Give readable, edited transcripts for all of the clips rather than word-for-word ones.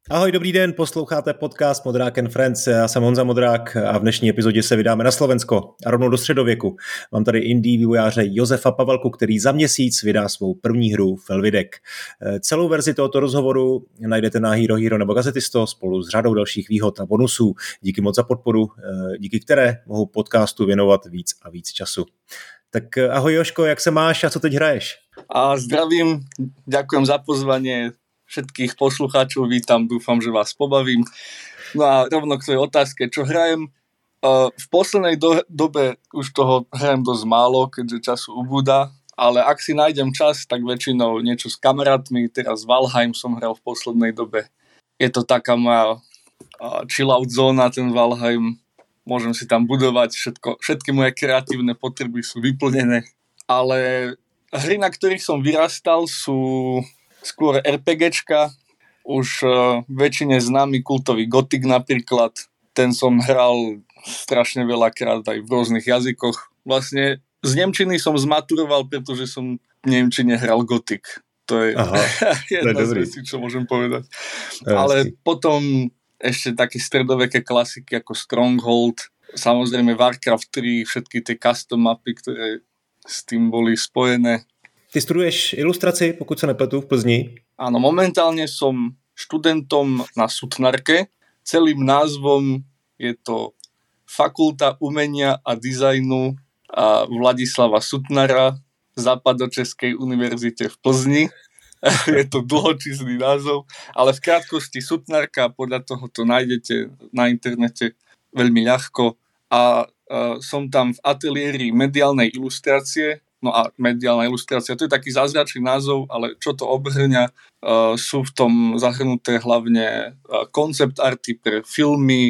Ahoj, dobrý den, posloucháte podcast Modrák and Friends. Já jsem Honza Modrák a v dnešní epizodě se vydáme na Slovensko a rovnou do středověku. Mám tady indie vývojáře Josefa Pavelku, který za měsíc vydá svou první hru Felvidek. Celou verzi tohoto rozhovoru najdete na Hero Hero nebo Gazetisto spolu s řadou dalších výhod a bonusů. Díky moc za podporu, díky které mohu podcastu věnovat víc a víc času. Tak ahoj Joško, jak se máš a co teď hraješ? A zdravím, ďakujem za pozvanie. Všetkých poslucháčov vítam, dúfam, že vás pobavím. No a rovno k tvojej otázke, čo hrajem? V poslednej dobe už toho hrajem dosť málo, keďže času ubúda, ale ak si nájdem čas, tak väčšinou niečo s kamarátmi. Teraz Valheim som hral v poslednej dobe. Je to taká moja chill-out zóna, ten Valheim. Môžem si tam budovať, všetky moje kreatívne potreby sú vyplnené. Ale hry, na ktorých som vyrastal, sú skôr RPGčka, už väčšine známy kultový Gothic napríklad, ten som hral strašne veľakrát aj v rôznych jazykoch. Vlastne z nemčiny som zmaturoval, pretože som v nemčine hral Gothic. To je jedna z vecí, čo môžem povedať. Ale potom ešte také stredoveké klasiky ako Stronghold, samozrejme Warcraft 3, všetky tie custom mapy, ktoré s tým boli spojené. Ty studuješ ilustraci, pokud sa nepletu, v Plzni? Áno, momentálne som študentom na Sutnarke. Celým názvom je to Fakulta umenia a dizajnu Vladislava Sutnara Západočeskej univerzite v Plzni. Je to dlhočísny názov, ale v krátkosti Sutnarka, podľa toho to nájdete na internete veľmi ľahko. A som tam v ateliéri mediálnej ilustrácie. No a mediálna ilustrácia, to je taký zázračný názov, ale čo to obhrňa, sú v tom zahrnuté hlavne koncept arty pre filmy,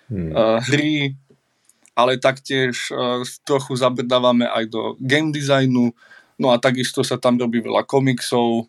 hry, ale taktiež trochu zabrdávame aj do game designu, no a takisto sa tam robí veľa komiksov,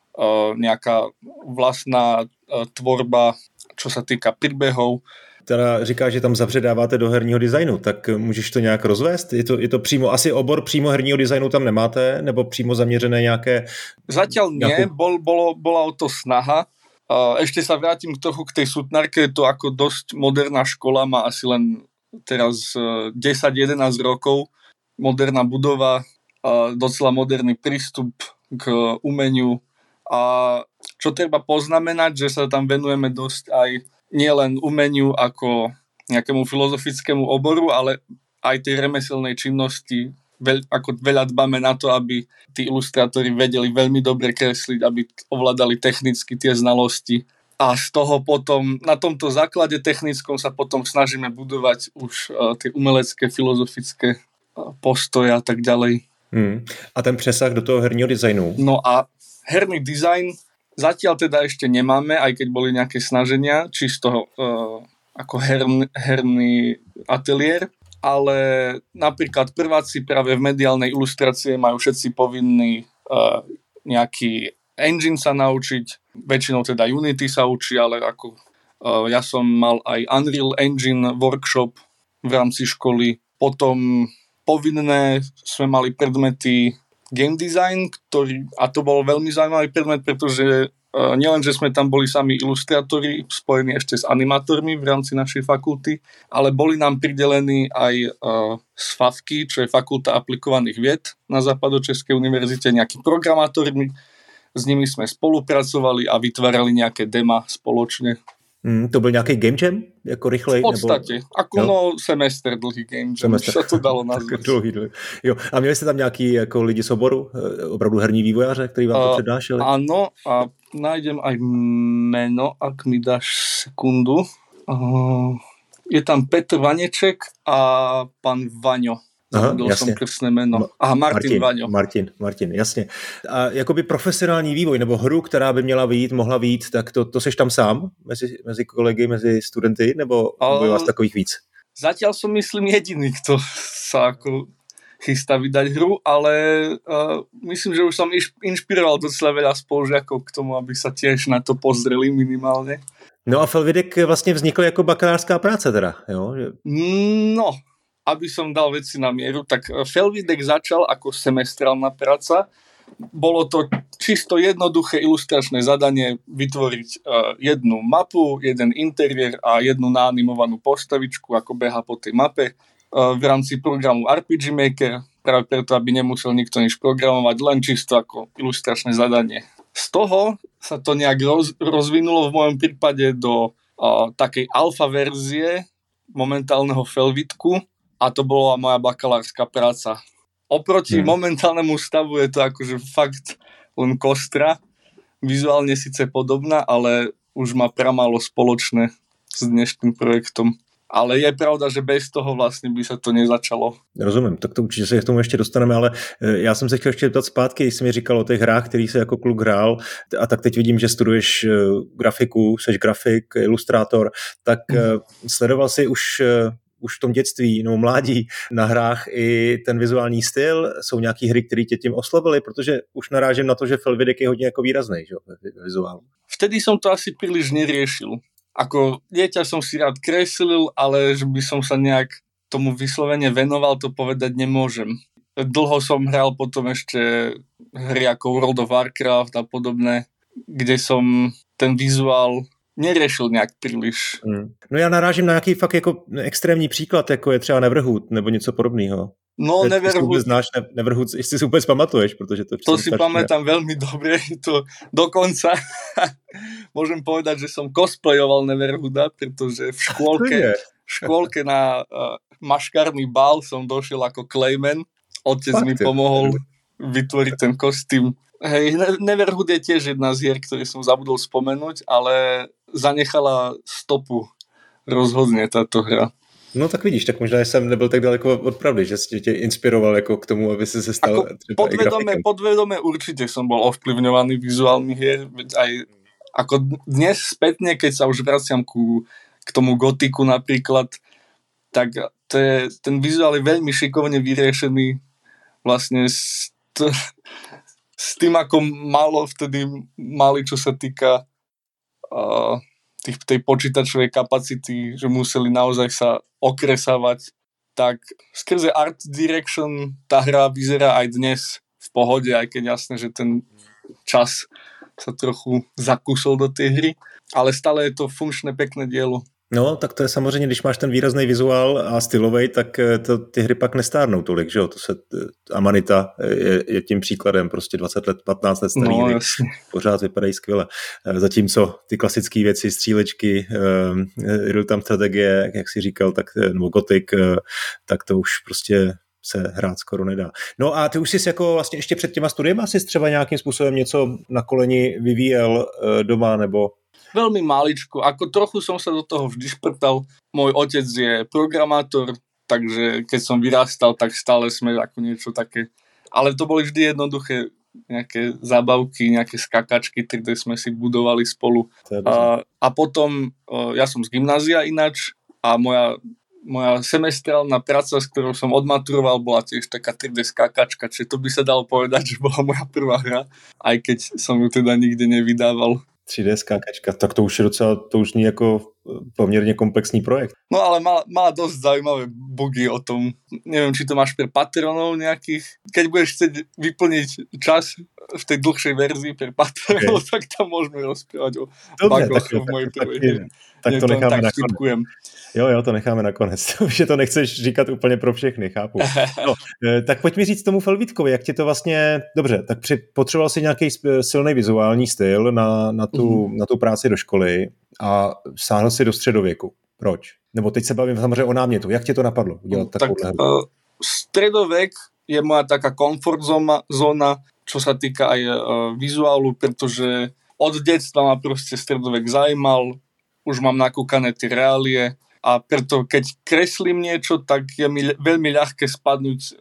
nejaká vlastná tvorba, čo sa týka príbehov. Teda říkáš, že tam zabředáváte do herního designu, tak můžeš to nějak rozvést? Je to přímo, asi obor přímo herního designu tam nemáte, nebo přímo zaměřené nějaké... Zatiaľ nie, bola o to snaha. Ešte sa vrátim k trochu k tej Sutnarke, je to ako dosť moderná škola, má asi len teraz 10-11 rokov, moderná budova, docela moderný prístup k umeniu a čo treba poznamenať, že sa tam venujeme dosť aj nielen umeniu ako nejakému filozofickému oboru, ale aj tej remeselnej činnosti. Ako veľa dbáme na to, aby tí ilustrátori vedeli veľmi dobre kresliť, aby ovládali technicky tie znalosti. A z toho potom, na tomto základe technickom sa potom snažíme budovať už tie umelecké, filozofické postoje a tak ďalej. A ten přesah do toho herního designu? No a herný dizajn zatiaľ teda ešte nemáme, aj keď boli nejaké snaženia, čisto ako herný ateliér, ale napríklad prváci práve v mediálnej ilustrácie majú všetci povinný nejaký engine sa naučiť, väčšinou teda Unity sa učí, ale ako ja som mal aj Unreal Engine workshop v rámci školy, potom povinné sme mali predmety game design, a to bol veľmi zaujímavý predmet, pretože nielen, že sme tam boli sami ilustrátori spojení ešte s animátormi v rámci našej fakulty, ale boli nám pridelení aj z FAVky, čo je Fakulta aplikovaných vied na Západočeskej univerzite, nejakí programátori, s nimi sme spolupracovali a vytvárali nejaké dema spoločne. To byl nějaký game jam? Jako rychlej? V podstate. Ako semestr dlhý game jam, už sa to dalo nazvať. Dlhý. Jo. A měli jste tam nějaký jako lidi z oboru? Opravdu herní vývojáře, který vám to přednášeli? Áno, a nájdem aj meno, ak mi dáš sekundu. Je tam Petr Vaneček a pan Vaňo. Zabudol som krstné meno. Martin Vaňo. Martin, jasně. A jakoby profesionální vývoj nebo hru, která by mohla vyjít, tak to seš tam sám mezi kolegy, mezi studenty, nebo je vás takových víc? Zatiaľ som myslím jediný, kto sa ako chystá vydať hru, ale myslím, že už som inšpiroval docela veľa spolužiakov k tomu, aby sa tiež na to pozreli minimálne. No a Felvidek vlastně vznikl jako bakalářská práce teda, jo? No, aby som dal veci na mieru, tak Felvidek začal ako semestrálna práca Bolo to čisto jednoduché ilustračné zadanie vytvoriť jednu mapu, jeden interiér a jednu naanimovanú postavičku, ako beha po tej mape v rámci programu RPG Maker, práve preto, aby nemusel nikto nič programovať, len čisto ako ilustračné zadanie. Z toho sa to nejak rozvinulo v mojom prípade do takej alfa verzie momentálneho Felvitku a to bola moja bakalárska práca. Oproti momentálnemu stavu je to akože fakt len kostra, vizuálne síce podobná, ale už má pramálo spoločné s dnešným projektom. Ale je pravda, že bez toho vlastně by se to nezačalo. Rozumím, tak to určitě se k tomu ještě dostaneme, ale já jsem se chtěl ještě ptat zpátky, když jsi mi říkal o těch hrách, který se jako kluk hrál, a tak teď vidím, že studuješ grafiku, seš grafik, ilustrátor, tak sledoval jsi už v tom dětství nebo mládí na hrách i ten vizuální styl? Jsou nějaký hry, které tě tím oslovily? Protože už narážím na to, že Felvidek je hodně jako výrazný, že, vizuál. Vtedy som to asi príliš neriešil. Ako dieťa som si rád kreslil, ale že by som sa nejak tomu vyslovene venoval, to povedať nemôžem. Dlho som hral potom ešte hry ako World of Warcraft a podobné, kde som ten vizuál neriešil nejak príliš. No já narážím na nějaký fakt jako extrémní příklad, jako je třeba Neverhood nebo něco podobného. No, Neverhood. Znáš Neverhood, jestli si vůbec pamatuješ, protože to si pamätám veľmi dobre, to dokonca môžem povedať, že som cosplayoval Neverhooda, pretože v škôlke na maškarný bál som došiel ako Clayman. Otec mi pomohol vytvoriť ten kostým. Hej, Neverhood je tiež jedna z hier, ktoré som zabudol spomenúť, ale zanechala stopu rozhodne táto hra. No tak vidíš, tak možná jsem nebyl tak daleko od pravdy, že tě inspiroval jako k tomu, aby si se stal třeba i grafikem. Podvedome určite som bol ovplyvňovaný vizuálnych hier, aj ako dnes spätne, keď sa už vraciam k tomu gotiku napríklad, tak ten vizuál je veľmi šikovne vyriešený vlastne s tým, ako málo vtedy mali, čo sa týka tej počítačovej kapacity, že museli naozaj sa okresávať, tak skrze art direction tá hra vyzerá aj dnes v pohode, aj keď jasné, že ten čas sa trochu zakusol do tej hry, ale stále je to funkčné, pekné dielo. No, tak to je samozřejmě, když máš ten výrazný vizuál a stylovej, tak ty hry pak nestárnou tolik, že jo? Amanita je tím příkladem, prostě 20 let, 15 let starý hry, pořád vypadají skvěle. Zatímco ty klasické věci, střílečky, real-time strategie, jak jsi říkal, tak, nebo Gothic, tak to už prostě se hrát skoro nedá. No a ty už jsi jako vlastně ještě před těma studiema jsi třeba nějakým způsobem něco na koleni vyvíjel doma, nebo... Veľmi maličko, ako trochu som sa do toho vždy šprtal. Môj otec je programátor, takže keď som vyrastal, tak stále sme ako niečo také. Ale to boli vždy jednoduché nejaké zábavky, nejaké skakačky, kde sme si budovali spolu. A potom, ja som z gymnázia ináč a moja semestrálna práca, s ktorou som odmaturoval, bola tiež taká 3D skakačka, čiže to by sa dalo povedať, že bola moja prvá hra, aj keď som ju teda nikdy nevydával. 3D skákačka, tak to už je docela, to už nie jako poměrně komplexní projekt. No ale má dosť zaujímavé bugy o tom. Neviem, či to máš pre patronov nejakých. Keď budeš chcieť vyplniť čas v tej dlhšej verzii pre patronov, tak tam môžeme rozprávať o bugoch v mojej prvej hre. Tak to necháme nakonec. Jo, to necháme nakonec. Už to nechceš říkat úplně pro všechny, chápu. No, tak pojď mi říct tomu Felvítkovi, jak ti to vlastně... Dobře, tak potřeboval si nějaký silný vizuální styl na tu práci do školy a sáhl si do středověku. Proč? Nebo teď se bavím samozřejmě o námětu. Jak ti to napadlo udělat takovouhle hru? Stredovek je moja taká komfort zóna, čo sa týka aj vizuálu, pretože od detstva ma proste stredovek zaujímal, už mám nakúkané tie reálie a preto keď kreslím niečo, tak je mi veľmi ľahké spadnúť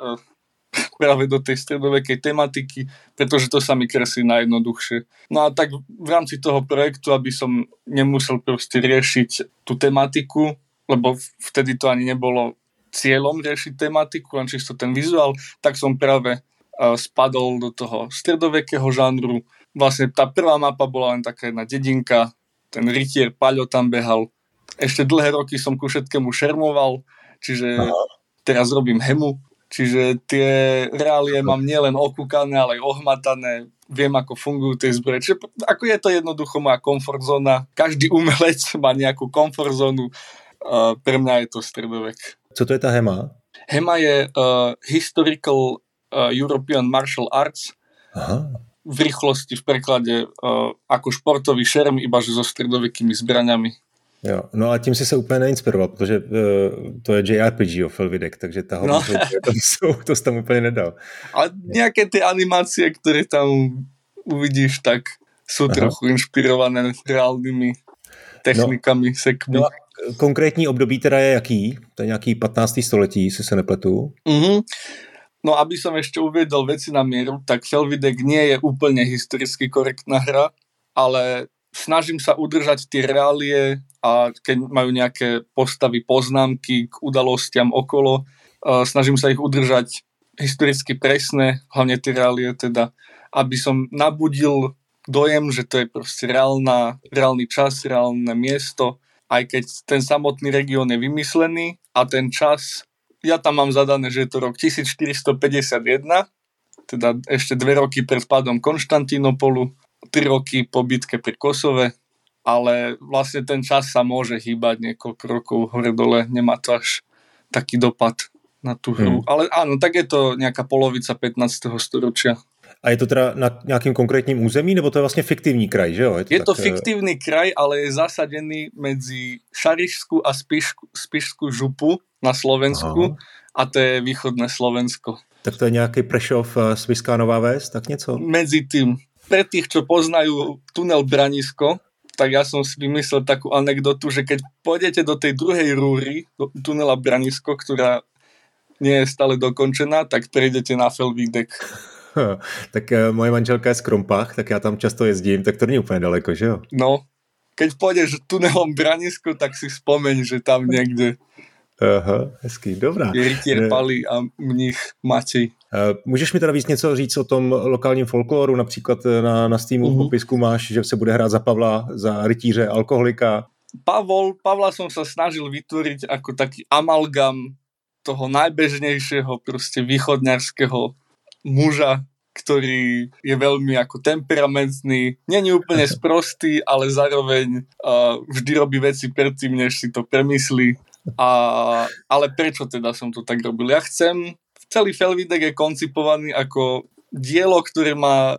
práve do tej stredovekej tematiky, pretože to sa mi kreslí najjednoduchšie. No a tak v rámci toho projektu, aby som nemusel proste riešiť tú tematiku, lebo vtedy to ani nebolo cieľom riešiť tematiku, len čisto ten vizuál, tak som práve spadol do toho stredovekého žánru. Vlastne tá prvá mapa bola len taká jedna dedinka, ten rytier Paľo tam behal. Ešte dlhé roky som ku všetkému šermoval, čiže teraz robím hemu Čiže tie reálie mám nielen okúkané, ale aj ohmatané. Viem, ako fungujú tie zbroje. Čiže ako je to jednoducho moja comfort zóna. Každý umelec má nejakú comfort zónu. Pre mňa je to stredovek. Co to je tá HEMA? HEMA je Historical European Martial Arts. Aha. V rýchlosti, v preklade ako športový šerm, iba že so stredovekými zbraňami. Jo, no a tím si se úplně neinspiroval, protože to je JRPG, Felvidek, takže ta No. to jsi tam úplně nedal. Ale nejaké tie animácie, ktoré tam uvidíš, tak sú trochu inšpirované reálnymi technikami, sekmi. No a konkrétní období teda je jaký? To je nějaký 15. století, si se nepletu. No aby som ešte uviedol veci na mieru, tak Felvidek nie je úplne historicky korektná hra, ale snažím sa udržať tie reálie a keď majú nejaké postavy, poznámky k udalostiam okolo, snažím sa ich udržať historicky presné, hlavne tie reálie teda, aby som nabudil dojem, že to je proste reálny čas, reálne miesto, aj keď ten samotný región je vymyslený a ten čas, ja tam mám zadané, že je to rok 1451, teda ešte 2 roky pred pádom Konštantínopolu, 3 roky po bitke pri Kosove, ale vlastne ten čas sa môže hýbať niekoľko rokov hore-dole, nemá to až taký dopad na tú hru. Ale áno, tak je to nejaká polovica 15. storočia. A je to teda na nějakým konkrétním území, nebo to je vlastně fiktivní kraj, že jo? Je to fiktívny kraj, ale je zasadený medzi Šarišskú a Spišskú župu na Slovensku. A to je východné Slovensko. Tak to je nějaký Prešov, Spišská Nová Ves, tak něco? Medzi tým. Pre tých, čo poznajú tunel Branisko, tak ja som si vymyslel takú anekdotu, že keď pôjdete do tej druhej rúry, do tunela Branisko, ktorá nie je stále dokončená, tak prejdete na Felvidek. Tak moje manželka je z Krompách, tak já tam často jezdím, tak to není úplně daleko, že jo? No, keď pôjdeš tunelom Branisko, tak si spomeň, že tam niekde Aha, hezký, dobrá. je rytier Pali a mních Matej. Můžeš mi teda víc něco říct o tom lokálním folkloru, například na Steamu v popisku máš, že se bude hrát za Pavla, za rytíře, alkoholika. Pavla som sa snažil vytvoriť ako taký amalgam toho najbežnejšieho proste východňarského muža, ktorý je veľmi ako temperamentný, není úplne sprostý, ale zároveň vždy robí veci predtým, než si to premyslí. Ale prečo teda som to tak robil? Ja chcem, celý Felvidek je koncipovaný ako dielo, ktoré má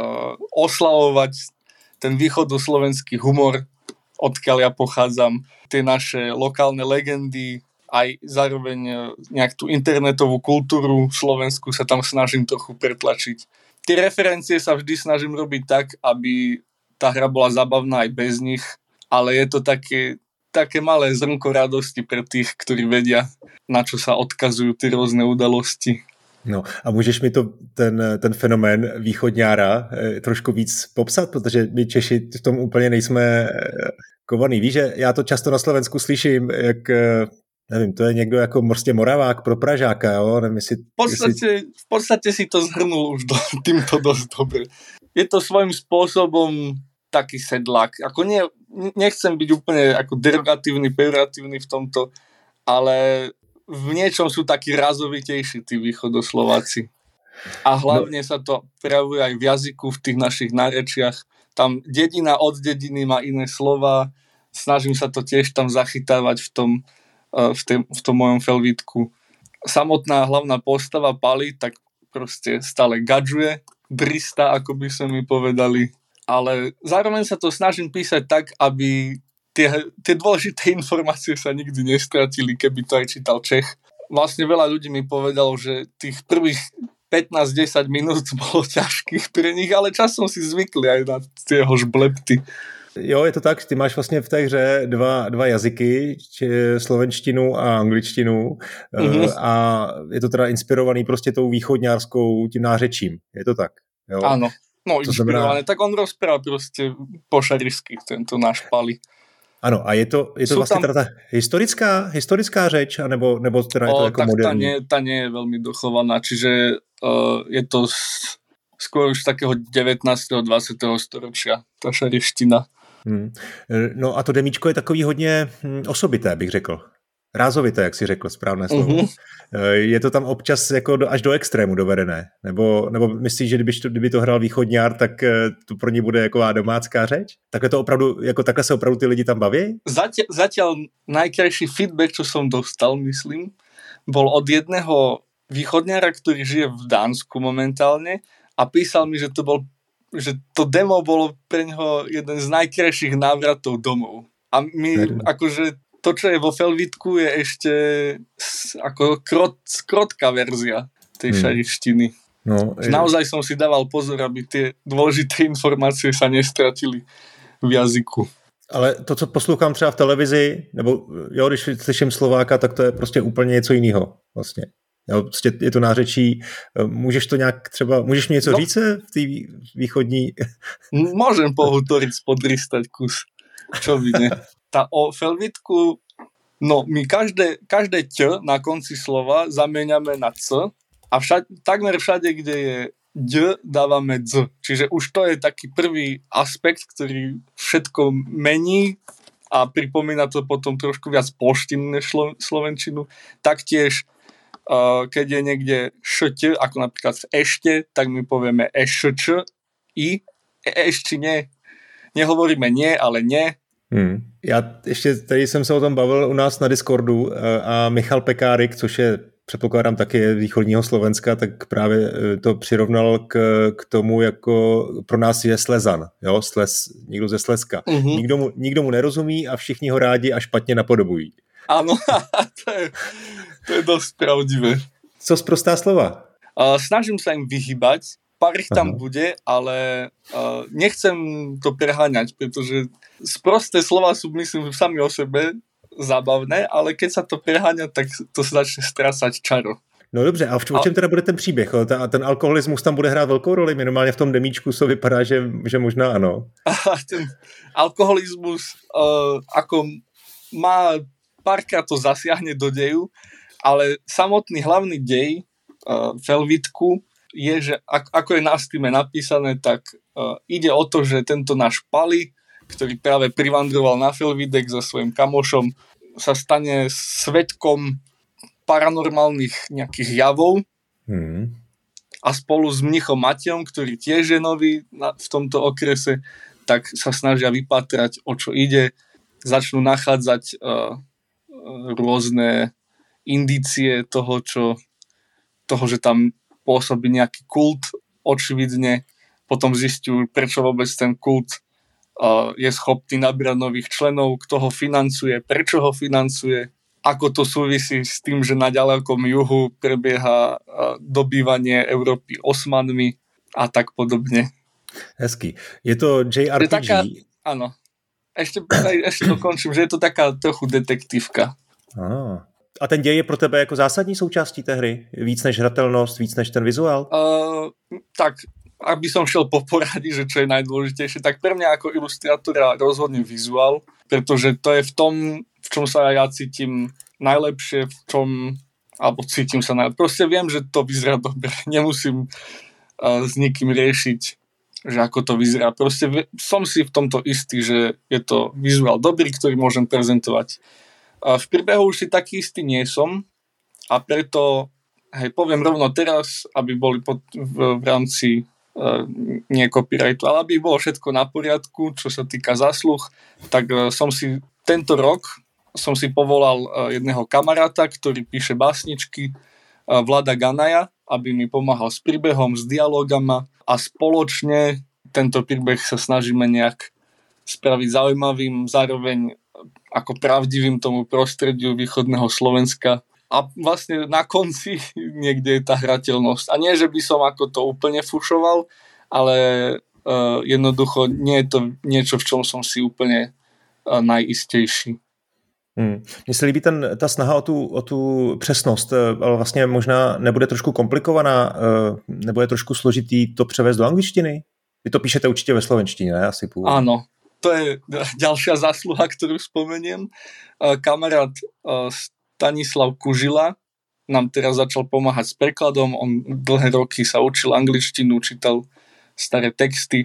oslavovať ten východoslovenský humor, odkiaľ ja pochádzam, tie naše lokálne legendy, aj zároveň nejak tú internetovú kultúru Slovensku sa tam snažím trochu pretlačiť. Tie referencie sa vždy snažím robiť tak, aby tá hra bola zábavná aj bez nich, ale je to také malé zrnko radosti pre tých, ktorí vedia, na čo sa odkazujú tie rôzne udalosti. No a můžeš mi to ten fenomén východňára trošku víc popsat, protože my Češi v tom úplně nejsme kovaný. Víš, že já to často na Slovensku slyším, jak nevím, to je někdo jako prostě Moravák pro Pražáka, jo? Nevím, V podstate si to zhrnul už týmto dosť dobre. Je to svojím spôsobom taký sedlák. Ako nechcem byť úplne ako derogatívny, pejoratívny v tomto, ale v niečom sú takí razovitejší tí východoslováci. A hlavne sa to prejavuje aj v jazyku, v tých našich nárečiach. Tam dedina od dediny má iné slova. Snažím sa to tiež tam zachytávať v tom mojom Felvidku. Samotná hlavná postava Pali tak proste stále gadžuje, drista, ako by sme mi povedali. Ale zároveň sa to snažím písať tak, aby tie dôležité informácie sa nikdy nestratili, keby to aj čítal Čech. Vlastne veľa ľudí mi povedalo, že tých prvých 15-10 minút bolo ťažkých pre nich, ale časom si zvykli aj na tie jeho žblepty. Jo, je to tak, ty máš vlastně v té hře dva jazyky, slovenštinu a angličtinu a je to teda inspirovaný prostě tou východňárskou tím nářečím, je to tak? Jo? Áno, no inspirované, tak on rozpráva prostě po šarišsky, tento náš Pali. Ano, a je to vlastně teda ta historická řeč, nebo teda je to jako moderní? Tak tá nie je veľmi dochovaná, čiže je to skôr už takého 19. 20. storočia, tá šariština. No a to demíčko je takový hodně osobité, bych řekl. Rázovité, jak si řekl, správné slovo. Uh-huh. Je to tam občas jako až do extrému dovedené? Nebo myslíš, že kdyby to hrál východňár, tak to pro ně bude jako domácká řeč? Takhle se opravdu ty lidi tam baví? Zatiaľ najkrajší feedback, čo som dostal, myslím, bol od jedného východňára, ktorý žije v Dánsku momentálne a písal mi, že to demo bolo pre neho jeden z najkrajších návratov domov. A my akože to, čo je vo Felvitku, je ešte ako krotká verzia tej šarištiny. No, naozaj som si dával pozor, aby tie dôležité informácie sa nestratili v jazyku. Ale to, co poslouchám třeba v televizi, nebo jo, když slyším Slováka, tak to je prostě úplně něco jiného vlastně. Jo, prostě je to nářečí. Můžeš to nějak třeba, můžeš mi něco říct v té východní? Môžem pohutoriť, spodristať kus. Čo by ne? Tá o Felvitku, no my každé ť na konci slova zamieňame na c a takmer všade, kde je d, dávame dz. Čiže už to je taký prvý aspekt, ktorý všetko mení a pripomína to potom trošku viac polštinu než slovenčinu. Taktiež, keď je niekde šť, ako napríklad v ešte, tak my povieme ešč, i, ešte nie. Nehovoríme nie, ale nie. Já ještě tady jsem se o tom bavil u nás na Discordu a Michal Pekárik, což je, předpokládám, taky východního Slovenska, tak právě to přirovnal k tomu, jako pro nás je Slezan, jo? Někdo ze Slezska. Uh-huh. Nikdo mu nerozumí a všichni ho rádi a špatně napodobují. Áno, to je dosť pravdivé. Co sprostá slova? Snažím sa im vyhýbať, pár ich tam bude, ale nechcem to preháňať, pretože sprosté slova sú, myslím, sami o sebe zábavné, ale keď sa to preháňa, tak to sa začne strácať čaro. No dobře, a o čem teda bude ten příběh? Ten alkoholismus tam bude hrát velkou roli? Minimálně v tom demíčku to vypadá, že možná ano. Ten alkoholizmus ako má párkrát to zasiahne do deju, ale samotný hlavný dej Felvitku je, že ako je na Steame napísané, tak ide o to, že tento náš Pali, ktorý práve privandroval na Felvidek so svojím kamošom, sa stane svedkom paranormálnych nejakých javov a spolu s mnichom Matejom, ktorý tiež je nový v tomto okrese, tak sa snažia vypatrať, o čo ide. Začnú nachádzať rôzne indície toho, že tam pôsobí nejaký kult, očividne. Potom zistujú, prečo vôbec ten kult je schopný nabrať nových členov, kto ho financuje, prečo ho financuje, ako to súvisí s tým, že na ďalekom juhu prebieha dobývanie Európy Osmanmi a tak podobne. Hezký. Je to JRPG? Áno. Ešte dokončím, že je to taká trochu detektívka. A ten děj je pro tebe jako zásadní součástí té hry? Víc než hratelnost, víc než ten vizuál? Tak, aby som šiel po poradí, že čo je najdôležitejšie, tak pre mňa ako ilustrátora rozhodne vizuál, pretože to je v tom, v čom sa ja cítim najlepšie, cítim sa najlepšie. Proste viem, že to vyzerá dobre. Nemusím s nikým riešiť, že ako to vyzerá. Proste som si v tomto istý, že je to vizuál dobrý, ktorý môžem prezentovať. V príbehu už si taký istý nie som a preto poviem rovno teraz, aby boli v rámci nie copyrightu, ale aby bolo všetko na poriadku, čo sa týka zásluh, tak tento rok som si povolal jedného kamaráta, ktorý píše básničky, Vlada Ganaja, aby mi pomáhal s príbehom, s dialogama a spoločne tento príbeh sa snažíme nejak spraviť zaujímavým, zároveň ako pravdivým tomu prostrediu východného Slovenska. A vlastne na konci niekde je tá hrateľnosť. A nie, že by som ako to úplne fušoval, ale jednoducho nie je to niečo, v čom som si úplne najistejší. Mně se líbí ta snaha o tu přesnost, ale vlastně možná nebude trošku komplikovaná, nebo je trošku složitý to převést do angličtiny? Vy to píšete určitě ve slovenštině, ne? Asi původně. Áno, to je ďalšia zásluha, ktorú spomeniem. Kamarát Stanislav Kužila nám teraz začal pomáhať s prekladom. On dlhé roky sa učil angličtinu, čítal staré texty,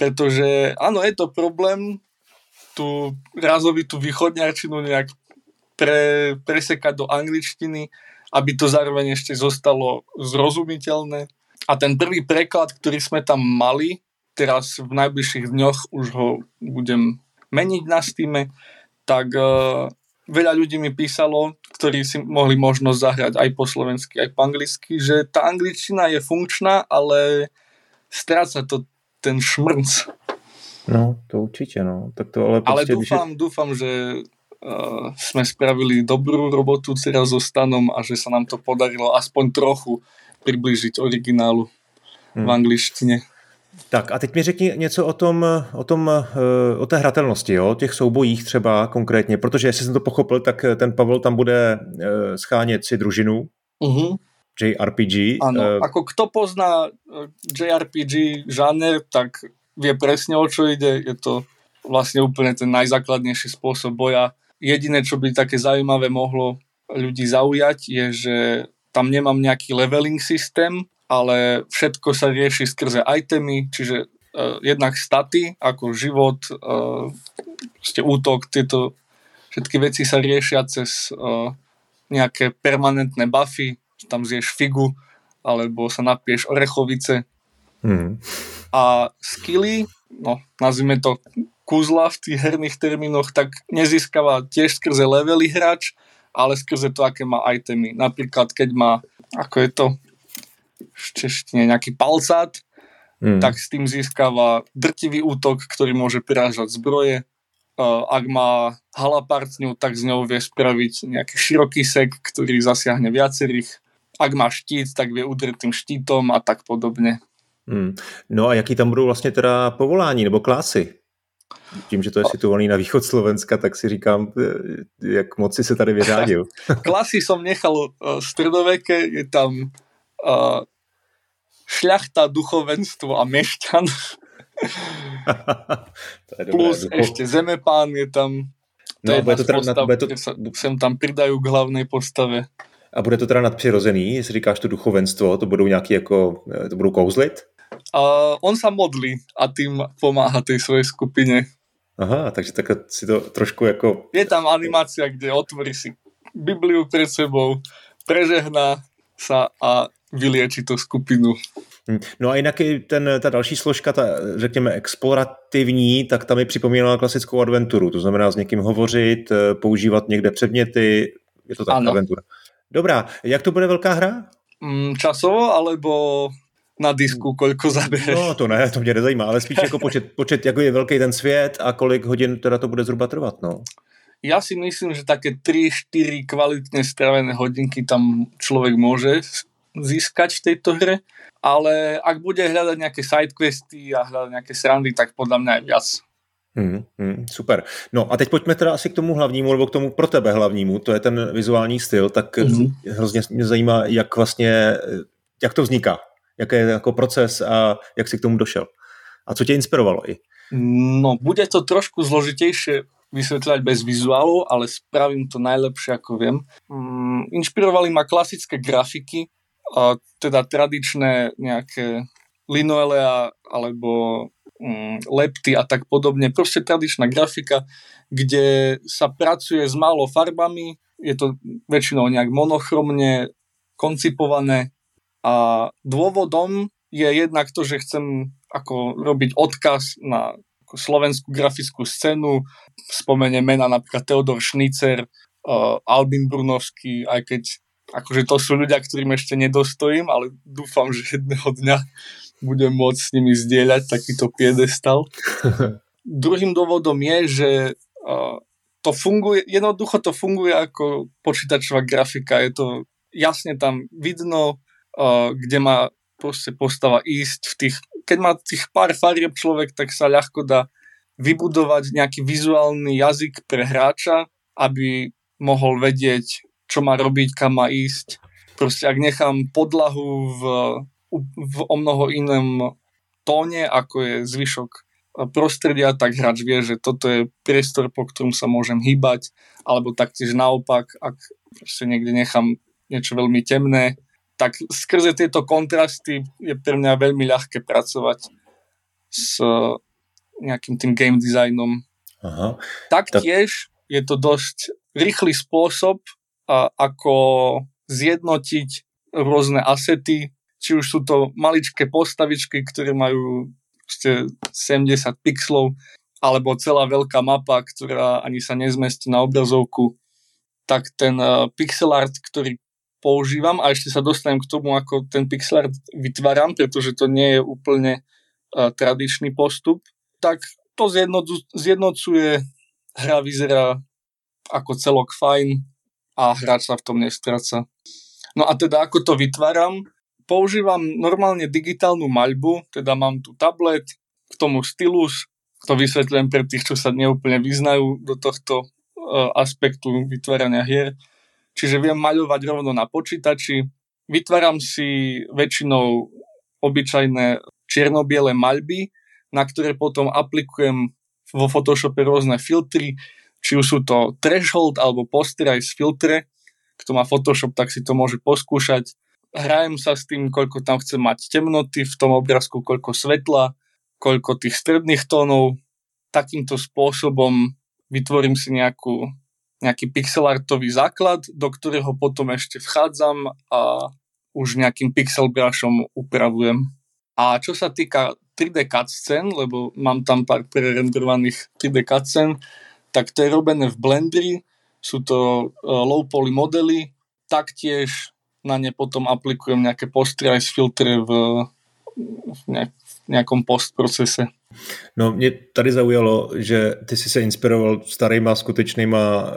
pretože áno, je to problém tú rázovitú východňarčinu nejak presekať do angličtiny, aby to zároveň ešte zostalo zrozumiteľné. A ten prvý preklad, ktorý sme tam mali, teraz v najbližších dňoch už ho budem meniť na Steame, tak veľa ľudí mi písalo, ktorí si mohli možnosť zahrať aj po slovensky, aj po anglicky, že tá angličtina je funkčná, ale stráca to ten šmrnc. No, to určite, no. Tak to ale dúfam, že sme spravili dobrú robotu teraz so Stanom a že sa nám to podarilo aspoň trochu priblížiť originálu v angličtině. Tak a teď mi řekni něco o té hratelnosti, jo? O těch soubojích třeba konkrétně, protože jestli jsem to pochopil, tak ten Pavel tam bude schánět si družinu, JRPG. Áno, ako kto pozná JRPG žáner, tak vie presne, o čo ide. Je to vlastne úplne ten najzákladnejší spôsob boja. Jediné, čo by také zaujímavé mohlo ľudí zaujať, je, že tam nemám nejaký leveling systém, ale všetko sa rieši skrze itemy, čiže jednak staty, ako život, útok, tieto všetky veci sa riešia cez nejaké permanentné buffy, tam zješ figu, alebo sa napiješ orechovice. A skilly, no nazvime to kúzla v tých herných termínoch, tak nezískava tiež skrze levely hráč, ale skrze to, aké má itemy. Napríklad, keď má, ako je to v češtine, nejaký palcát, tak s tým získava drtivý útok, ktorý môže prirážať zbroje. Ak má halapartňu, tak z ňou vie spraviť nejaký široký sek, ktorý zasiahne viacerých. Ak má štít, tak vie udrieť tým štítom a tak podobne. No a jaký tam budou vlastně teda povolání nebo klásy? Tím, že to je situovaný na východ Slovenska, tak si říkám, jak moc si se tady vyřádil. Klasy som nechal stredoveké, je tam šľachta, duchovenstvo a mešťan. Plus ešte zemepán je tam. To je sem tam pridajú k hlavnej postave. A bude to teda nadpřirozený, jestli říkáš to duchovenstvo, to budou nějaký jako, to budou kouzlit? On sa modlí a tým pomáha tej svojej skupine. Aha, takže tak si to trošku jako... Je tam animácia, kde otvorí si Bibliu pred sebou, prežehná sa a vylieči tú skupinu. No a jinak ta další složka, ta řekněme explorativní, tak tam mi připomínala klasickou adventuru, to znamená s někým hovořit, používat někde předměty, je to tak, ano. Adventura. Dobrá, jak to bude velká hra? Časovo, alebo na disku, koľko zabereš? No to ne, to mě nezajímá, ale spíš jako počet, jako je velký ten svět a kolik hodin teda to bude zhruba trvat, no. Ja si myslím, že také 3-4 kvalitne stravené hodinky tam človek môže získať v tejto hre, ale ak bude hľadať nejaké sidequesty a hľadať nejaké srandy, tak podľa mňa je viac. Super. No a teď pojďme teda asi k tomu hlavnímu, nebo k tomu pro tebe hlavnímu, to je ten vizuální styl, tak hrozně mě zajímá, jak to vzniká, jaký je jako proces a jak si k tomu došel. A co tě inspirovalo i? No, bude to trošku zložitejšie vysvetľať bez vizuálu, ale spravím to najlepšie, ako viem. Inšpirovali ma klasické grafiky, teda tradičné nejaké linoelea alebo lepty a tak podobne. Proste tradičná grafika, kde sa pracuje s málo farbami, je to väčšinou nejak monochromne koncipované a dôvodom je jednak to, že chcem ako robiť odkaz na slovenskú grafickú scénu. Spomeniem mena napríklad Teodor Šnicer, Albin Brunovský, aj keď akože to sú ľudia, ktorým ešte nedostojím, ale dúfam, že jedného dňa budem môcť s nimi zdieľať takýto piedestal. Druhým dôvodom je, že to funguje, jednoducho to funguje ako počítačová grafika. Je to jasne tam vidno, kde má proste postava ísť v tých, keď má tých pár farieb človek, tak sa ľahko dá vybudovať nejaký vizuálny jazyk pre hráča, aby mohol vedieť, čo má robiť, kam má ísť. Proste ak nechám podlahu v o mnoho inom tóne, ako je zvyšok prostredia, tak hráč vie, že toto je priestor, po ktorom sa môžem hýbať, alebo taktiež naopak, ak proste niekde nechám niečo veľmi temné, tak skrze tieto kontrasty je pre mňa veľmi ľahké pracovať s nejakým tým game designom. Aha. Taktiež je to dosť rýchly spôsob, ako zjednotiť rôzne asety, či už sú to maličké postavičky, ktoré majú 70 pixelov, alebo celá veľká mapa, ktorá ani sa nezmestí na obrazovku, tak ten pixel art, ktorý používam, a ešte sa dostanem k tomu, ako ten pixel art vytváram, pretože to nie je úplne tradičný postup, tak to zjednocuje, hra vyzerá ako celok fajn a hráč sa v tom nestráca. No a teda ako to vytváram, používam normálne digitálnu maľbu, teda mám tu tablet, k tomu stylus, to vysvetľujem pre tých, čo sa neúplne vyznajú do tohto aspektu vytvárania hier. Čiže viem maľovať rovno na počítači, vytváram si väčšinou obyčajné čierno-biele maľby, na ktoré potom aplikujem vo Photoshope rôzne filtry, či už sú to threshold alebo posterize filtre. Kto má Photoshop, tak si to môže poskúšať. Hrajem sa s tým, koľko tam chcem mať temnoty v tom obrázku, koľko svetla, koľko tých stredných tónov. Takýmto spôsobom vytvorím si nejaký pixelartový základ, do ktorého potom ešte vchádzam a už nejakým pixel brushom upravujem. A čo sa týka 3D cutscene, lebo mám tam pár prerenderovaných 3D cutscene, tak to je robené v Blenderi, sú to low poly modely, taktiež na ne potom aplikujem nejaké posterize filtre v nejakom postprocese. No mě tady zaujalo, že ty jsi se inspiroval starýma skutečnýma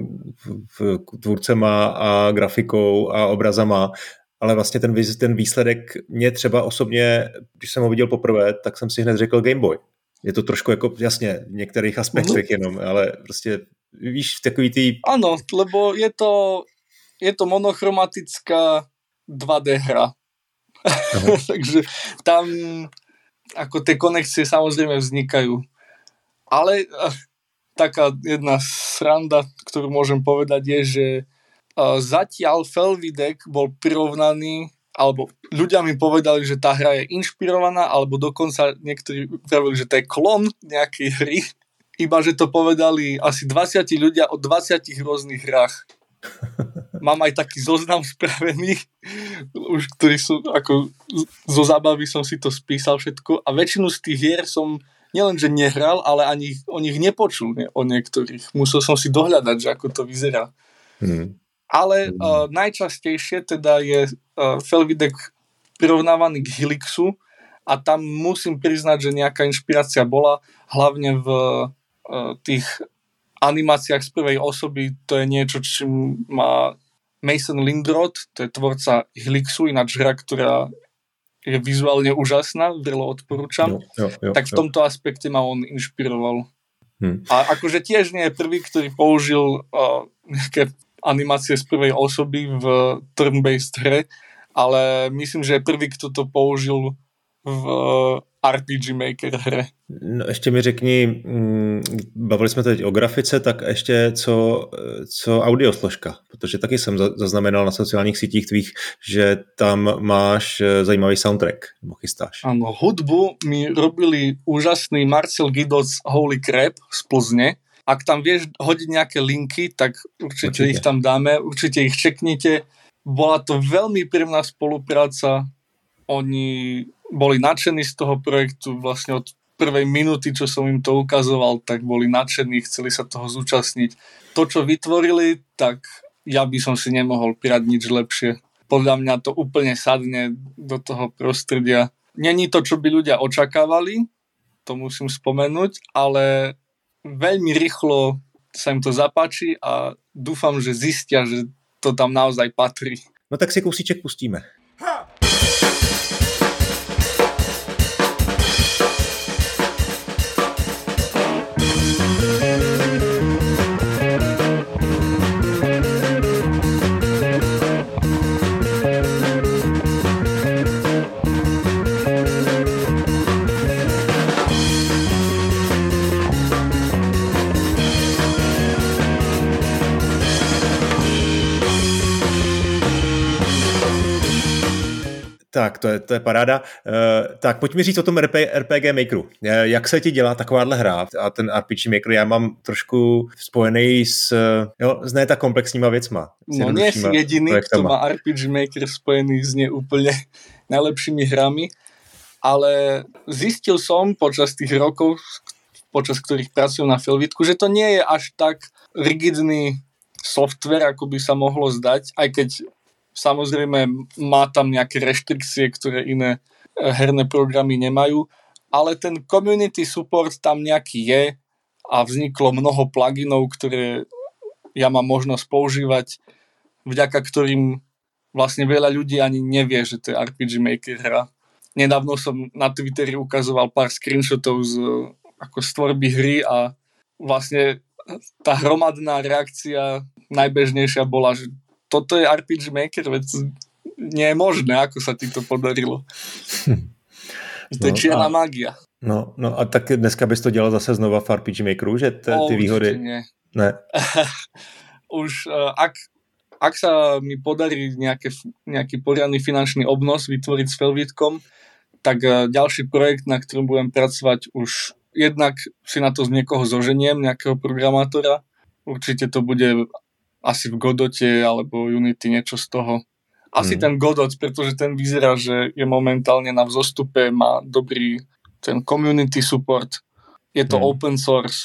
tvůrcema a grafikou a obrazama, ale vlastně ten výsledek mě třeba osobně, když jsem ho viděl poprvé, tak jsem si hned řekl Game Boy. Je to trošku jako jasně v některých aspektech jenom, ale prostě víš, takový ty... Áno, lebo je to monochromatická 2D hra. Takže tam ako tie konekcie samozrejme vznikajú. Ale taká jedna sranda, ktorú môžem povedať, je, že zatiaľ Felvidek bol prirovnaný, alebo ľudia mi povedali, že tá hra je inšpirovaná, alebo dokonca niektorí pravili, že to je klon nejakej hry. Iba, že to povedali asi 20 ľudia o 20 rôznych hrách. Mám aj taký zoznam spravený, už ktorý sú, ako zo zábavy som si to spísal všetko a väčšinu z tých hier som nielenže nehral, ale ani o nich nepočul, o niektorých. Musel som si dohľadať, že ako to vyzerá. Ale najčastejšie teda je Felvidek prirovnávaný k Helixu a tam musím priznať, že nejaká inšpirácia bola, hlavne v tých animáciách z prvej osoby. To je niečo, čím má Mason Lindroth, to je tvorca Helixu, ináč hra, ktorá je vizuálne úžasná, veľmi odporúčam. Tak v tomto aspekte ma on inšpiroval. A akože tiež nie je prvý, ktorý použil nejaké animácie z prvej osoby v turn-based hre, ale myslím, že je prvý, kto to použil v RPG Maker hre. No ještě mi řekni, bavili jsme teď o grafice, tak ještě co audio složka, protože taky jsem zaznamenal na sociálních sítích tvých, že tam máš zajímavý soundtrack, nebo chystáš. Áno, hudbu mi robili úžasný Marcel Gidoc Holy Crap z Plzne. Ak tam vieš hodiť nejaké linky, tak určite ich tam dáme, určite ich čeknite. Bola to veľmi príjemná spolupráca. Oni boli nadšení z toho projektu vlastne od prvej minúty, čo som im to ukazoval, tak boli nadšení, chceli sa toho zúčastniť. To, čo vytvorili, tak ja by som si nemohol prijať nič lepšie. Podľa mňa to úplne sadne do toho prostredia. Není to, čo by ľudia očakávali, to musím spomenúť, ale veľmi rýchlo sa im to zapáči a dúfam, že zistia, že to tam naozaj patrí. No tak si kousíček pustíme. Tak, to je paráda. Tak pojď mi říct o tom RPG Makeru. Jak se ti dělá takováhle hra a ten RPG Maker? Já mám trošku spojený s ne tak komplexníma věcma. No nie si jediný, kto má RPG Maker spojený s neúplne najlepšími hrami, ale zistil som počas tých rokov, počas ktorých pracujem na Felvitku, že to nie je až tak rigidný software, ako by sa mohlo zdať, aj keď samozrejme má tam nejaké reštrikcie, ktoré iné herné programy nemajú, ale ten community support tam nejaký je a vzniklo mnoho pluginov, ktoré ja mám možnosť používať, vďaka ktorým vlastne veľa ľudí ani nevie, že to je RPG Maker hra. Nedávno som na Twitteri ukazoval pár screenshotov z tvorby hry a vlastne tá hromadná reakcia najbežnejšia bola, že toto je RPG Maker, veď nie je možné, ako sa ti to podarilo. To je čierna magia. No a tak dneska bys to dělal zase znova v RPG Makeru, že ty výhody... Ne. Už ak sa mi podarí nejaký poriadny finančný obnos vytvoriť s Felvitkom, tak ďalší projekt, na ktorom budem pracovať, už jednak si na to z niekoho zoženiem, nejakého programátora. Určite to bude asi v Godote alebo Unity, niečo z toho. Asi ten Godot, pretože ten vyzerá, že je momentálne na vzostupe, má dobrý ten community support, je to open source.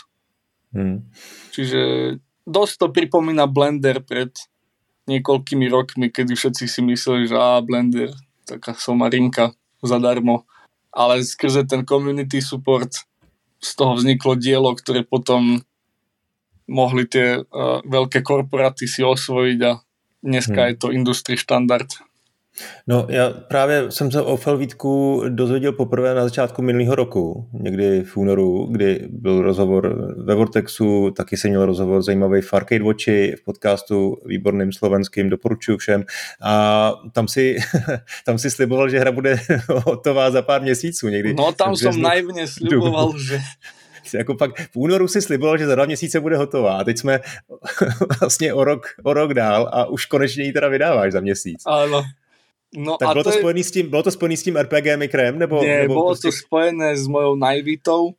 Čiže dosť to pripomína Blender pred niekoľkými rokmi, kedy všetci si mysleli, že Blender, taká somarinka zadarmo. Ale skrze ten community support z toho vzniklo dielo, ktoré potom mohli tie veľké korporáty si osvojiť a dneska je to industry štandard. No já právě jsem se o Felvítku dozvěděl poprvé na začátku minulého roku, někdy v únoru, kdy byl rozhovor ve Vortexu, taky jsem měl rozhovor zajímavý v Arcade Watchi, v podcastu výborným slovenským, doporučuji všem. A tam si sliboval, že hra bude hotová za pár měsíců někdy. No tam jsem naivně sliboval, že... Jako pak v únoru si sliboval, že za 2 měsíce bude hotová a teď jsme vlastně o rok dál a už konečně ji teda vydáváš za měsíc. Áno. No tak bylo to spojené s tím RPG Makerem? Nie, bolo to spojené s mojou naivitou.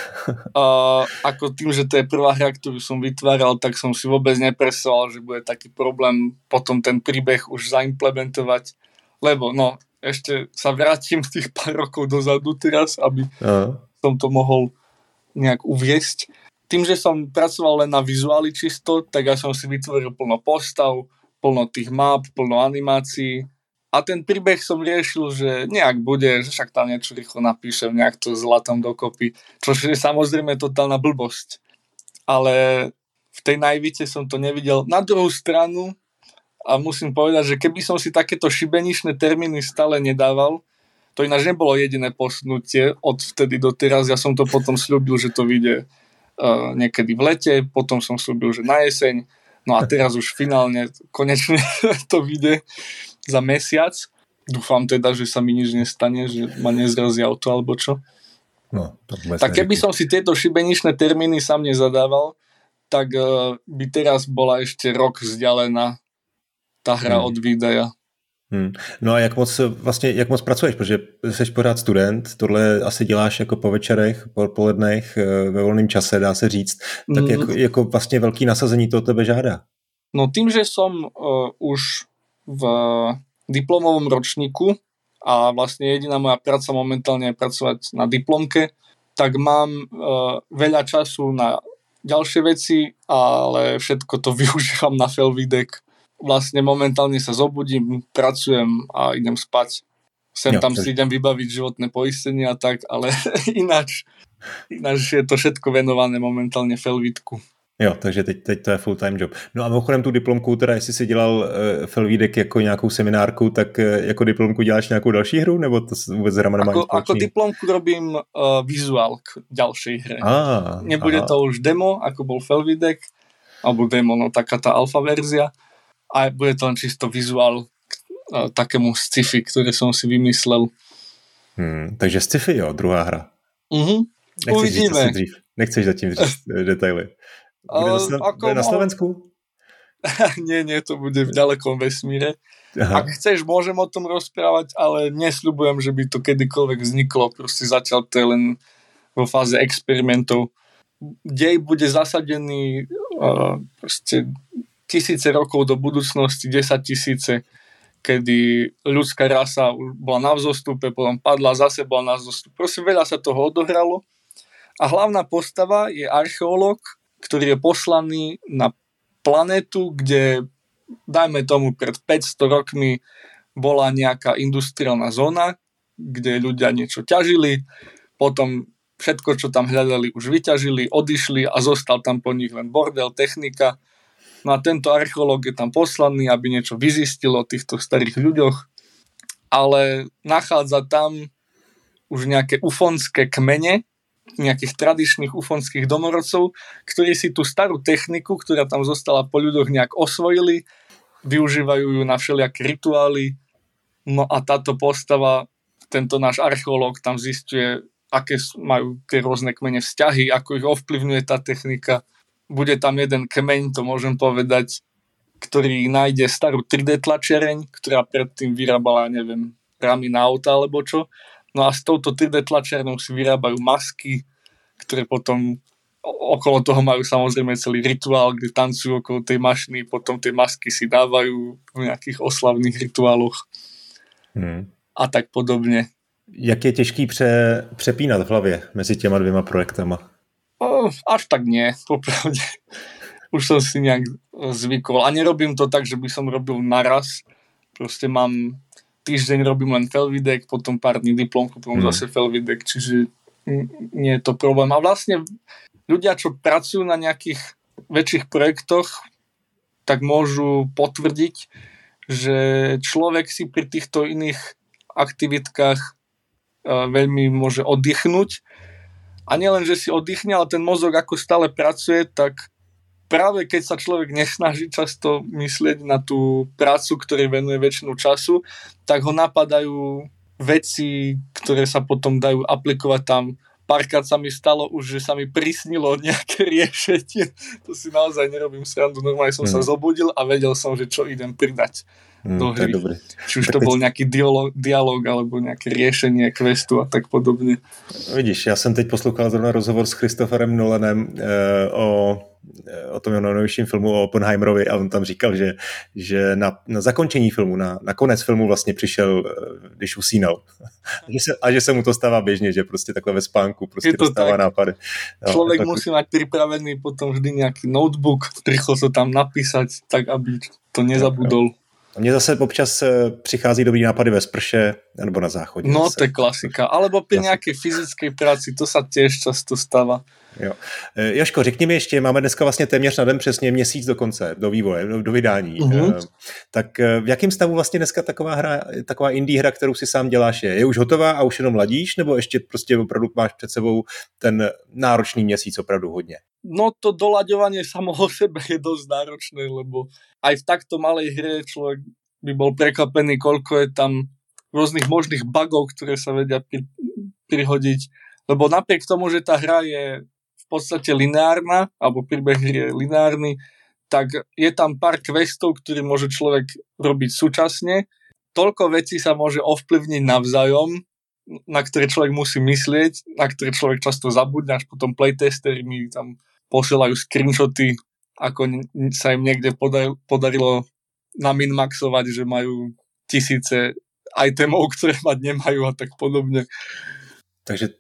Ako tým, že to je prvá hra, ktorú som vytváral, tak som si vôbec nepresoval, že bude taký problém potom ten príbeh už zaimplementovať. Lebo ešte sa vrátim tých pár rokov dozadu teraz, aby som to mohol nejak uviesť. Tým, že som pracoval len na vizuáli čisto, tak ja som si vytvoril plno postav, plno tých map, plno animácií a ten príbeh som riešil, že nejak bude, že však tam niečo rýchlo napíšem, nejak to zlatám dokopy, čo je samozrejme totálna blbosť. Ale v tej naivite som to nevidel. Na druhú stranu, a musím povedať, že keby som si takéto šibeničné termíny stále nedával, to ináč nebolo jediné posunutie od vtedy do teraz. Ja som to potom sľúbil, že to vyjde niekedy v lete, potom som sľúbil, že na jeseň. No a teraz už finálne, konečne to vyjde za mesiac. Dúfam teda, že sa mi nič nestane, že ma nezrazí auto alebo čo. No, tak keby som si tieto šibeničné termíny sám nezadával, tak by teraz bola ešte rok vzdialená tá hra od výdaja. No a jak moc pracuješ, protože jsi pořád student, tohle asi děláš jako po večerech, po odpolednech, ve volném čase, dá se říct, tak jako vlastně velký nasazení to tebe žádá. No tým, že som už v diplomovom ročníku a vlastne jediná moja práca momentálne je pracovať na diplomke, tak mám veľa času na ďalšie veci, ale všetko to využívam na Felvidek. Vlastne momentálne sa zobudím, pracujem a idem spať. Tam si idem vybaviť životné poistenie a tak, ale ináč je to všetko venované momentálne Felvidku. Jo, takže teď to je full-time job. No a mimochodem tu diplomku, teda jestli si dělal Felvídek jako nějakou seminárku, tak jako diplomku děláš nějakou další hru, nebo to vůbec hrama nemá nic společný? Ako diplomku robím vizuál k ďalšej hre. Nebude to už demo, ako bol Felvídek, alebo demo, taká tá alfa verzia, a bude to len čisto vizuál k takému sci-fi, ktoré som si vymyslel. Takže sci-fi, jo, druhá hra. Uvidíme. Nechceš zatím říct detaily. Bude na Slovensku? Nie, to bude v ďalekom vesmíre. Aha. Ak chceš, môžem o tom rozprávať, ale nesľubujem, že by to kedykoľvek vzniklo. Proste zatiaľ to je len vo fáze experimentov. Dej bude zasadený proste tisíce rokov do budúcnosti, 10 000, kedy ľudská rasa bola na vzostupe, potom padla, zase bola na vzostupe. Proste veľa sa toho odohralo. A hlavná postava je archeológ, ktorý je poslaný na planetu, kde dajme tomu pred 500 rokmi bola nejaká industriálna zóna, kde ľudia niečo ťažili, potom všetko, čo tam hľadali, už vyťažili, odišli a zostal tam po nich len bordel, technika. No a tento archeológ je tam poslaný, aby niečo vyzistil o týchto starých ľuďoch, ale nachádza tam už nejaké ufonské kmene, nejakých tradičných ufonských domorodcov, ktorí si tú starú techniku, ktorá tam zostala po ľuďoch, nejak osvojili, využívajú ju na všelijaké rituály. No a táto postava, tento náš archeológ tam zisťuje, aké majú tie rôzne kmene vzťahy, ako ich ovplyvňuje tá technika. Bude tam jeden kmeň, to môžem povedať, ktorý nájde starú 3D tlačiareň, ktorá predtým vyrábala, neviem, ramy na auta alebo čo. No a s touto 3D tlačiarňou si vyrábajú masky, ktoré potom okolo toho majú samozrejme celý rituál, kde tancujú okolo tej mašiny, potom tie masky si dávajú v nejakých oslavných rituáloch a tak podobne. Jak je těžký přepínat v hlavě mezi těma dvěma projektama? Až tak nie, popravde. Už som si nejak zvykol. A nerobím to tak, že by som robil naraz. Proste mám týždeň robím len Felvidek, potom pár dní diplomku, potom zase Felvidek, čiže nie je to problém. A vlastne ľudia, čo pracujú na nejakých väčších projektoch, tak môžu potvrdiť, že človek si pri týchto iných aktivitkách veľmi môže oddychnúť. A nielen, že si oddychne, ale ten mozog ako stále pracuje, tak práve keď sa človek nesnaží často myslieť na tú prácu, ktorej venuje väčšinu času, tak ho napadajú veci, ktoré sa potom dajú aplikovať tam. Párkrát sa mi stalo už, že sa mi prisnilo nejaké riešenie. To si naozaj nerobím srandu. Normálne som sa zobudil a vedel som, že čo idem pridať do hry. Či už to bol nejaký dialog alebo nejaké riešenie questu a tak podobne. Vidíš, já jsem teď poslouchal zrovna rozhovor s Christopherem Nolanem o tom jeho nejnovějším filmu o Oppenheimerovi a on tam říkal, že na zakončení filmu, na konec filmu vlastně přišel, když usínal. A že se mu to stává běžně, že prostě takhle ve spánku prostě dostává nápady. No, človek musí mať pripravený potom vždy nejaký notebook, rýchlo to tam napísať, tak aby to nezabudol. A mně zase občas přichází dobrý nápady ve sprše nebo na záchodě. No, to je klasika. Alebo pri nejakej fyzickej práci, to sa tiež často stáva. Jo. Jožko, řekni mi ještě, máme dneska vlastně téměř na den přesně měsíc do konce, do vývoje, do vydání. Tak v jakém stavu vlastně dneska taková indie hra, kterou si sám děláš, je? Je už hotová a už jenom ladíš, nebo ještě prostě opravdu máš před sebou ten náročný měsíc opravdu hodně? No to doľaďovanie samo o sebe je dosť náročné, lebo aj v takto malej hre človek by bol prekvapený, koľko je tam rôznych možných bugov, ktoré sa vedia prihodiť. Lebo napriek tomu, že tá hra je v podstate lineárna, alebo príbeh hry je lineárny, tak je tam pár questov, ktoré môže človek robiť súčasne. Toľko vecí sa môže ovplyvniť navzájom, na ktoré človek musí myslieť, na ktoré človek často zabudne, až potom playtestery mi tam posielajú screenshoty, ako sa im niekde podarilo naminmaxovať, že majú tisíce itemov, ktoré mať nemajú a tak podobne. Takže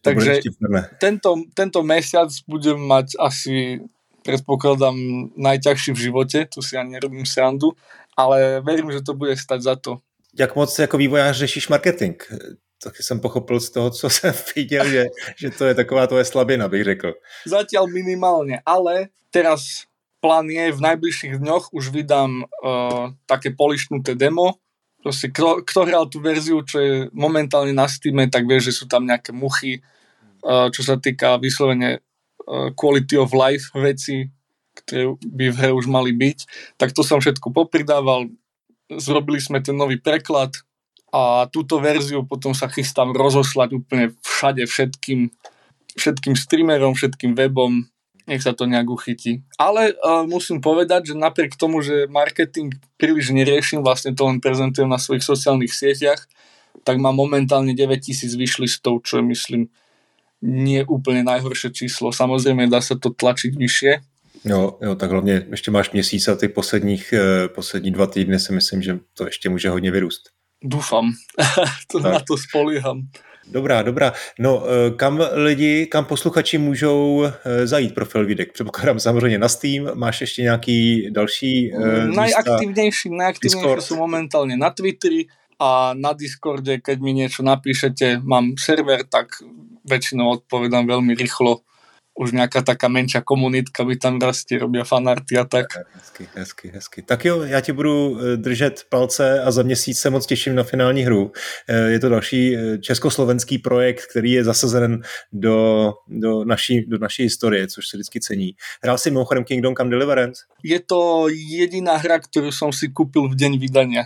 tento mesiac budem mať asi, predpokladám, najťažší v živote, tu si ani nerobím srandu, ale verím, že to bude stať za to. Jak moc jako vývojář řešíš marketing? Taky jsem pochopil z toho, co jsem viděl, že to je taková tvoje slabina, bych řekl. Zatiaľ minimálne, ale teraz plán je, v najbližších dňoch už vydám také polišnuté demo. Proste, kto hral tú verziu, čo je momentálne na Steame, tak vie, že sú tam nejaké muchy, čo sa týka vyslovene quality of life veci, ktoré by v hre už mali byť. Tak to som všetko popridával. Zrobili sme ten nový preklad a túto verziu potom sa chystám rozoslať úplne všade všetkým streamerom, všetkým webom nech sa to nejak uchytí. Ale musím povedať, že napriek tomu, že marketing príliš neriešim, vlastne to len prezentujem na svojich sociálnych sieťach, tak mám momentálne 9,000 wishlistov, čo je, myslím, nie úplne najhoršie číslo. Samozrejme, dá sa to tlačiť vyššie. Jo, tak hlavně ještě máš měsíc a ty poslední 2 týdny si myslím, že to ještě může hodně vyrůst. Dúfam. Na to spolíham. Dobrá. No, kam posluchači můžou zajít pro Felvídek? Předpokládám samozřejmě na Steam. Máš ještě nějaký další Najaktivnejší sú momentálne na Twitteri a na Discorde, keď mi niečo napíšete, mám server, tak väčšinou odpovedám veľmi rýchlo. Už nejaká taká menšia komunitka by tam rastie, robia fanarty a tak. Hezky. Tak jo, já ti budu držet palce a za měsíc se moc těším na finální hru. Je to další československý projekt, který je zasazen do naší historie, což se vždycky cení. Hrál si mimochodem Kingdom Come Deliverance? Je to jediná hra, ktorú som si kúpil v deň vydania.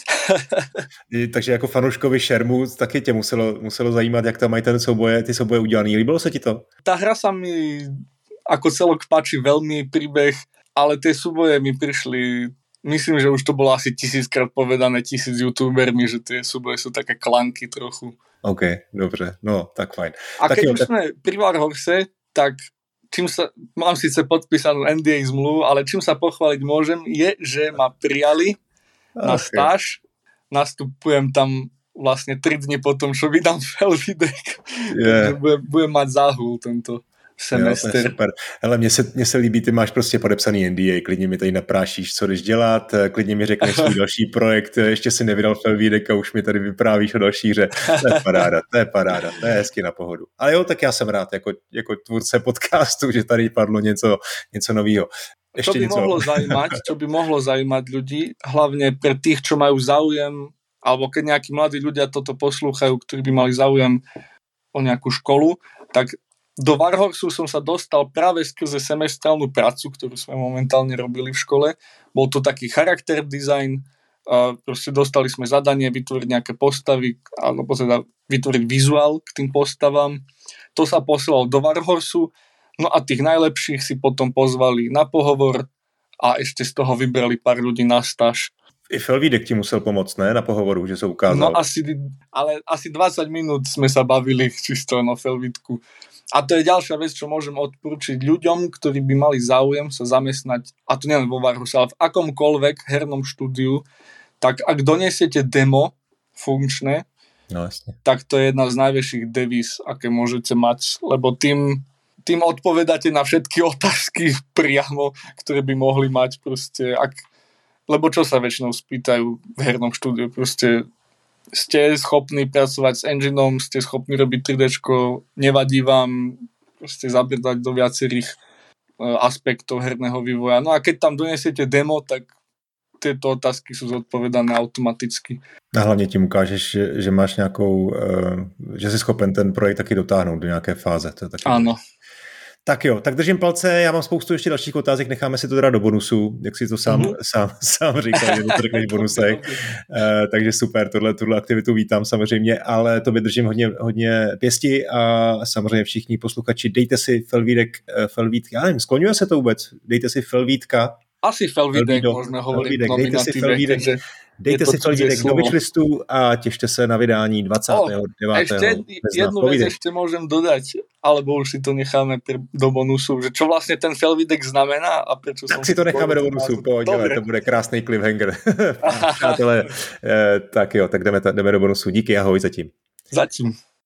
Takže jako fanouškovi šermu taky tě muselo zajímat, jak tam mají ty souboje udělaný. Líbilo se ti to? Tá hra sa mi ako celok páči veľmi, príbeh, ale tie súboje mi prišli, myslím, že už to bolo asi 1000-krát povedané 1000 youtubermi, že tie súboje sú také klanky trochu. OK, dobře, no tak fajn. A keď už sme pri Warhorse, tak mám síce podpísanú NDA zmluvu, ale čím sa pochváliť môžem, je, že ma prijali na stáž. Nastupujem tam vlastne 3 dni potom, čo vydám Felvídek. Takže budem mať záhul tento semestr. Jo, super. Hele, mně se líbí, ty máš prostě podepsaný NDA, klidně mi tady naprášíš, co jdeš dělat, klidně mi řekneš svůj další projekt, ještě si nevydal Felvídek a už mi tady vyprávíš o další hře. To je paráda, to je hezky na pohodu. Ale jo, tak já jsem rád, jako tvůrce podcastu, že tady padlo něco nového. Čo by mohlo zaujímať ľudí, hlavne pre tých, čo majú záujem, alebo keď nejakí mladí ľudia toto poslúchajú, ktorí by mali záujem o nejakú školu, tak do Warhorsu som sa dostal práve skrze semestrálnu prácu, ktorú sme momentálne robili v škole. Bol to taký charakter design, proste dostali sme zadanie vytvoriť nejaké postavy, alebo teda vytvoriť vizuál k tým postavám. To sa posielalo do Warhorsu. No a tých najlepších si potom pozvali na pohovor a ešte z toho vybrali pár ľudí na stáž. I Felvídek ti musel pomoct, ne? Na pohovoru, že sa ukázal. No asi 20 minút sme sa bavili čisto na Felvídku. A to je ďalšia vec, čo môžem odporúčiť ľuďom, ktorí by mali záujem sa zamestnať, a to nielen vo Warhorse, ale v akomkoľvek hernom štúdiu, tak ak donesiete demo funkčné, tak to je jedna z najväčších devíz, aké môžete mať, lebo tým odpovedáte na všetky otázky priamo, ktoré by mohli mať proste, lebo čo sa väčšinou spýtajú v hernom štúdiu, proste ste schopní pracovať s engineom, ste schopní robiť 3Dčko, nevadí vám proste zabrdať do viacerých aspektov herného vývoja. No a keď tam donesiete demo, tak tieto otázky sú zodpovedané automaticky. A hlavně tím ukážeš, že máš nějakou, že jsi schopen ten projekt taky dotáhnout do nějaké fáze. To je taky áno. Tak jo, tak držím palce, já mám spoustu ještě dalších otázek, necháme si to teda do bonusu, jak si to sám říkal, že to řekneš v bonusech, takže super, tuhle aktivitu vítám samozřejmě, ale to držím hodně pěsti a samozřejmě všichni posluchači, dejte si Felvídek, já nevím, skloňuje se to vůbec, dejte si Felvídka. Asi Felvídek, môžeme hovoriť v nominatíve. Dejte si Felvídek do wishlistů a těšte se na vydání 29. Ešte jednu vec ešte môžem dodať, alebo už si to necháme do bonusu, že čo vlastne ten Felvídek znamená a prečo tak si to necháme do bonusu, pojďme, to bude krásný cliffhanger. Přátelé, tak jo, tak jdeme do bonusu. Díky, ahoj zatím. Zatím.